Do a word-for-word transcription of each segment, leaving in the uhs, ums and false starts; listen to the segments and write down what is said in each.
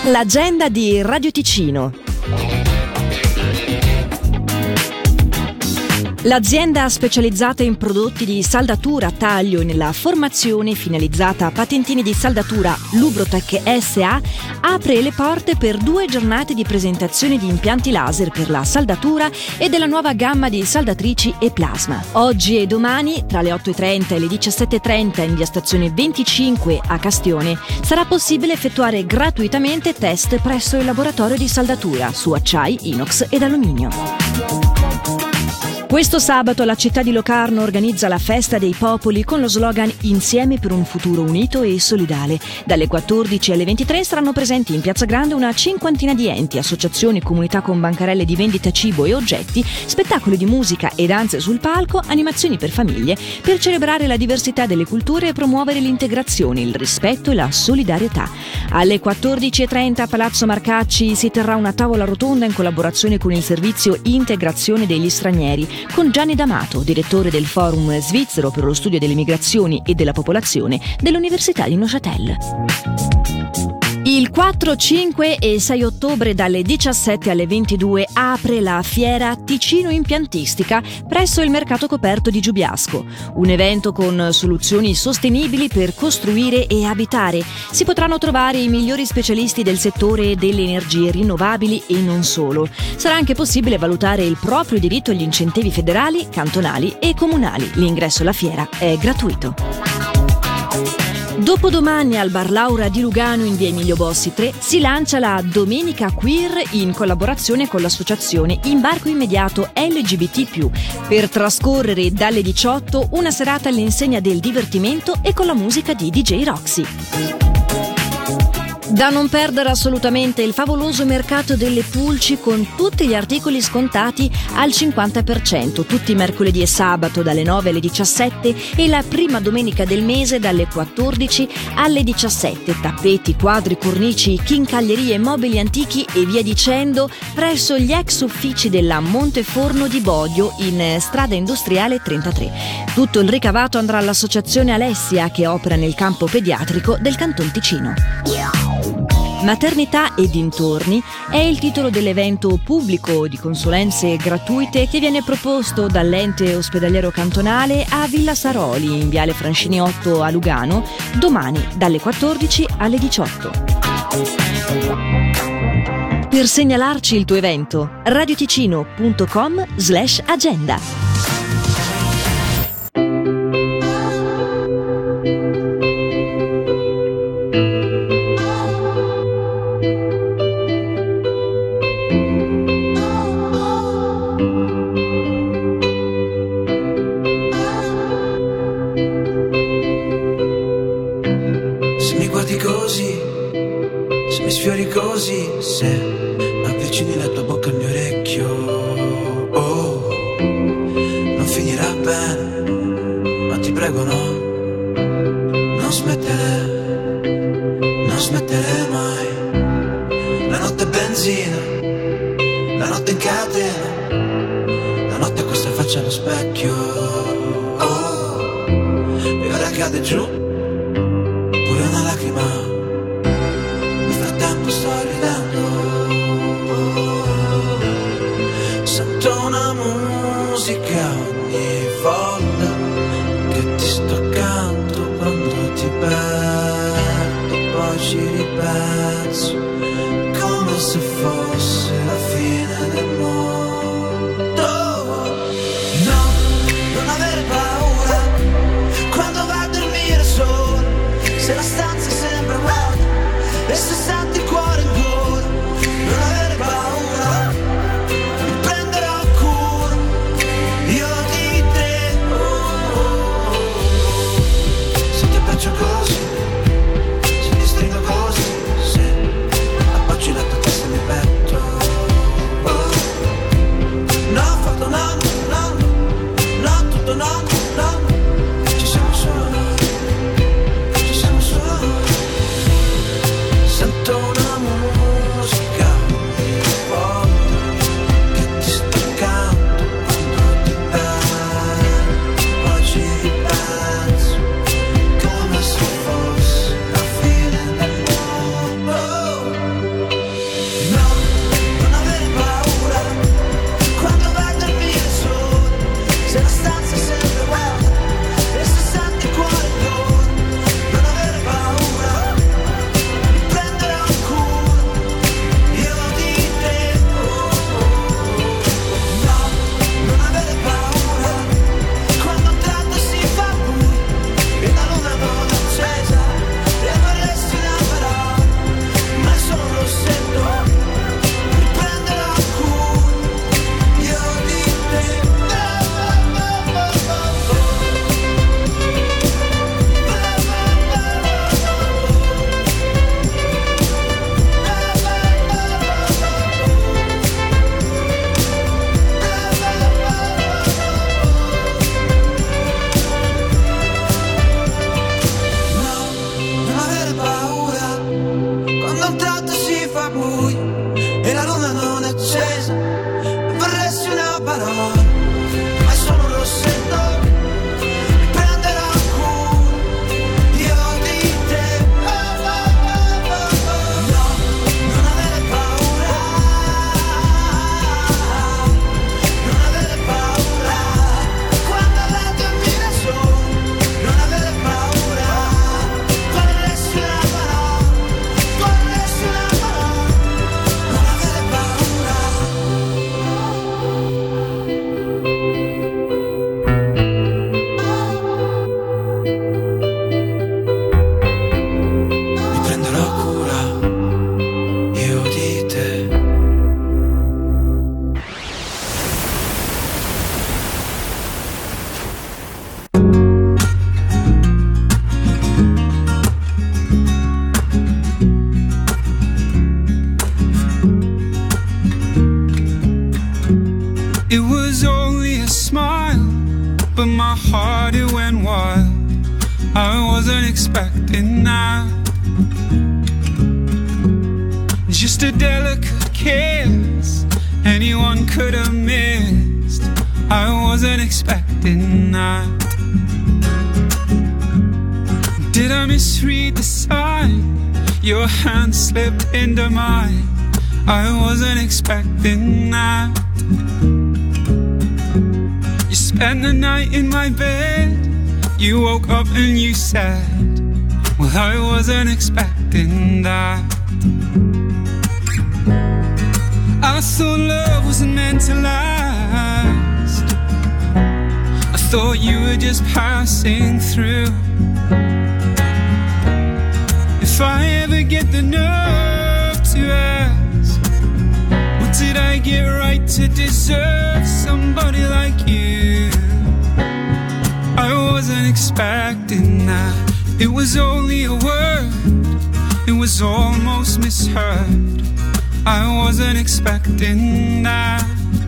L'agenda di Radio Ticino. L'azienda specializzata in prodotti di saldatura, taglio e nella formazione finalizzata a patentini di saldatura Lubrotec S A apre le porte per due giornate di presentazione di impianti laser per la saldatura e della nuova gamma di saldatrici e plasma. Oggi e domani, tra le otto e trenta e le diciassette e trenta in via Stazione venticinque a Castione, sarà possibile effettuare gratuitamente test presso il laboratorio di saldatura su acciai, inox ed alluminio. Questo sabato la città di Locarno organizza la Festa dei Popoli con lo slogan Insieme per un futuro unito e solidale. Dalle quattordici alle ventitré saranno presenti in Piazza Grande una cinquantina di enti, associazioni, comunità con bancarelle di vendita cibo e oggetti, spettacoli di musica e danze sul palco, animazioni per famiglie, per celebrare la diversità delle culture e promuovere l'integrazione, il rispetto e la solidarietà. Alle quattordici e trenta a Palazzo Marcacci si terrà una tavola rotonda in collaborazione con il servizio Integrazione degli Stranieri, con Gianni D'Amato, direttore del Forum Svizzero per lo studio delle migrazioni e della popolazione dell'Università di Neuchâtel. Il quattro, cinque e sei ottobre dalle diciassette alle ventidue apre la fiera Ticino Impiantistica presso il mercato coperto di Giubiasco, un evento con soluzioni sostenibili per costruire e abitare. Si potranno trovare i migliori specialisti del settore delle energie rinnovabili e non solo. Sarà anche possibile valutare il proprio diritto agli incentivi federali, cantonali e comunali. L'ingresso alla fiera è gratuito. Dopodomani al Bar Laura di Lugano in via Emilio Bossi tre si lancia la Domenica Queer in collaborazione con l'associazione Imbarco Immediato L G B T più, per trascorrere dalle diciotto una serata all'insegna del divertimento e con la musica di D J Roxy. Da non perdere assolutamente il favoloso mercato delle pulci con tutti gli articoli scontati al cinquanta per cento, tutti mercoledì e sabato dalle nove alle diciassette e la prima domenica del mese dalle quattordici alle diciassette. Tappeti, quadri, cornici, chincaglierie, mobili antichi e via dicendo presso gli ex uffici della Monteforno di Bodio in strada industriale trentatré. Tutto il ricavato andrà all'associazione Alessia che opera nel campo pediatrico del Canton Ticino. Maternità e dintorni è il titolo dell'evento pubblico di consulenze gratuite che viene proposto dall'ente ospedaliero cantonale a Villa Saroli in viale Francini otto a Lugano domani dalle quattordici alle diciotto. Per segnalarci il tuo evento, radioticino punto com slash agenda. Così, se mi sfiori così, se avvicini la tua bocca al mio orecchio, oh, non finirà bene, ma ti prego no, non smettere, non smettere mai. La notte è benzina, la notte in catena, la notte questa faccia allo specchio, oh, e ora cade giù pure una lacrima. Sto ridendo, sento una musica ogni volta che ti sto accanto, quando ti perdo poi ci ripenso come se fosse la fine del mondo. No, non avere paura quando vai a dormire solo, se la stanza sembra vuota e se senti il cuore in gola, non avere paura, mi prenderò cura io di te. Oh, oh, oh. Se ti abbraccio così, se ti stringo così, se appoggi la tua testa nel petto, heart, it went wild. I wasn't expecting that. Just a delicate kiss, anyone could have missed. I wasn't expecting that. Did I misread the sign? Your hand slipped into mine. I wasn't expecting that. You spent the night in my bed. You woke up and you said, well, I wasn't expecting that. I thought love wasn't meant to last. I thought you were just passing through. If I ever get the nerve to ask, what did I get right to deserve somebody like you? I wasn't expecting that. It was only a word, it was almost misheard. I wasn't expecting that.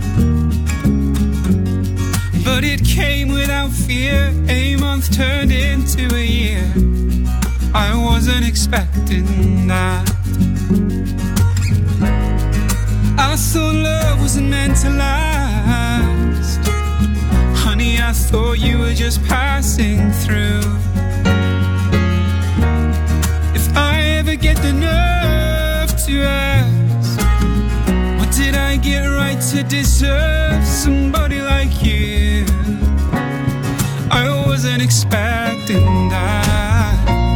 But it came without fear. A month turned into a year. I wasn't expecting that. I thought love wasn't meant to last. Honey, I thought you were just passing through. If I ever get the nerve to ask, what did I get right to deserve somebody like you? I wasn't expecting that.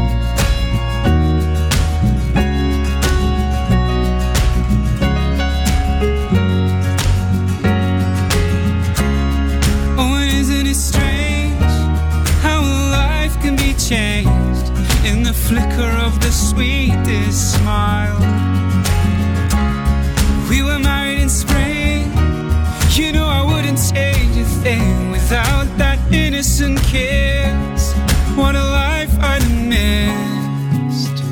Oh, and isn't it strange how life can be changed in the flicker of the sweetest smile? We were married in spring. You know I wouldn't change a thing without that innocent kiss. What a life I'd have missed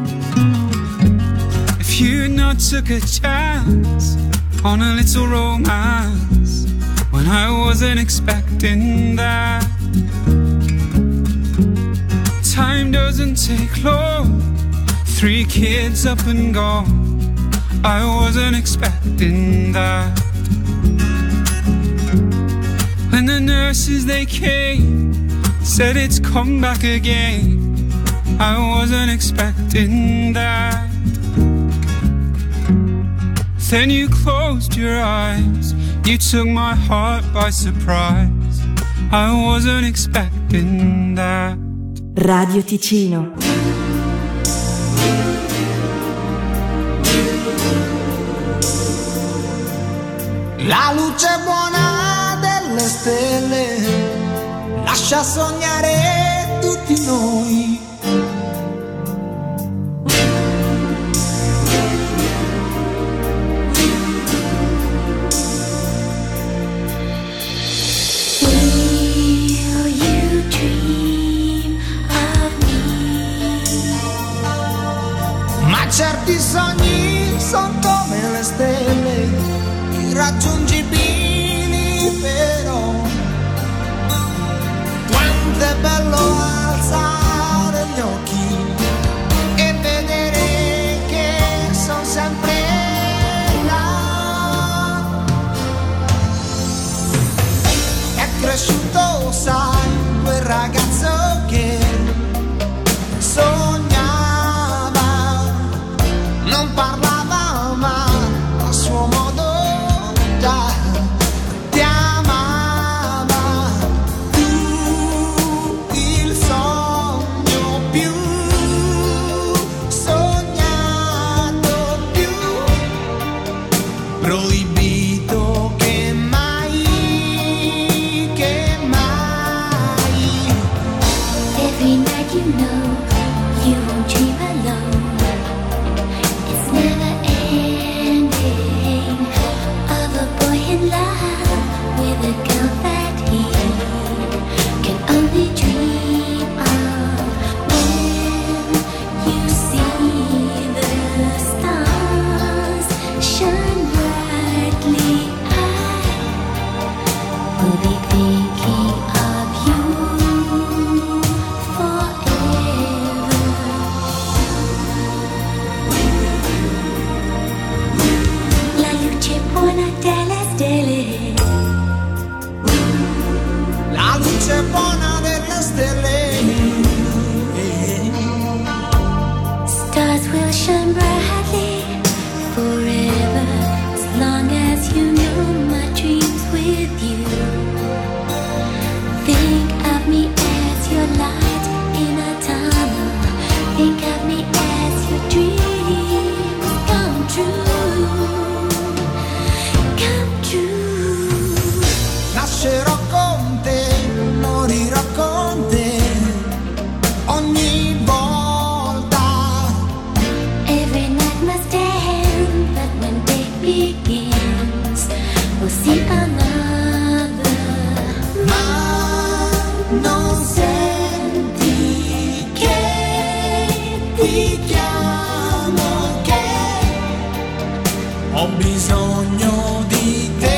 if you not took a chance on a little romance when I wasn't expecting that. Time doesn't take long. Three kids up and gone. I wasn't expecting that. When the nurses they came, said it's come back again, I wasn't expecting that. Then you closed your eyes, you took my heart by surprise. I wasn't expecting that. Radio Ticino. La luce buona delle stelle lascia sognare tutti noi. Will you dream of me? Ma certi sogni sono come le stelle, irraggiungibili però. Quanto è bello alzare gli occhi e vedere che sono sempre là. È cresciuto, sai, quel ragazzo che sognava, non parlava ma a suo modo ti amava. Tu il sogno will shine brightly forever, as long as you know my dreams with you. Think of me as your light in a tunnel. Think of me as your dreams come true, come true. Nascerò con te, morirò con te, ogni volta. Every night must end, but when day begins, we'll see another. Ma non senti che ti chiamo, che ho bisogno di te.